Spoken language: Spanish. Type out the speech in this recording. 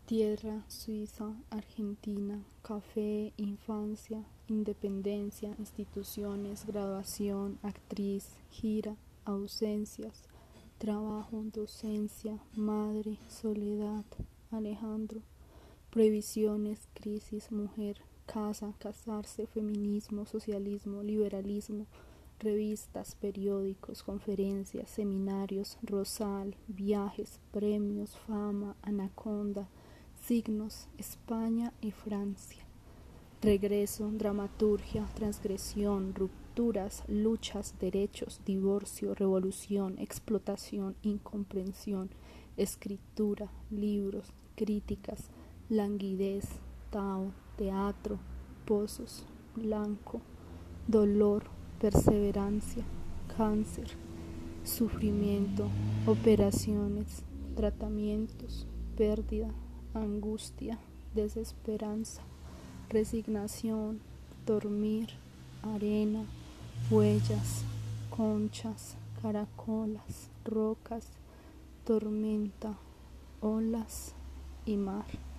Tierra, Suiza, Argentina, café, infancia, independencia, instituciones, graduación, actriz, gira, ausencias, trabajo, docencia, madre, soledad, Alejandro, prohibiciones, crisis, mujer, casa, casarse, feminismo, socialismo, liberalismo, revistas, periódicos, conferencias, seminarios, rosal, viajes, premios, fama, anaconda, signos, España y Francia. Regreso, dramaturgia, transgresión, rupturas, luchas, derechos, divorcio, revolución, explotación, incomprensión, escritura, libros, críticas, languidez, Tao, teatro, pozos, blanco, dolor, perseverancia, cáncer, sufrimiento, operaciones, tratamientos, pérdida, angustia, desesperanza, resignación, dormir, arena, huellas, conchas, caracolas, rocas, tormenta, olas y mar.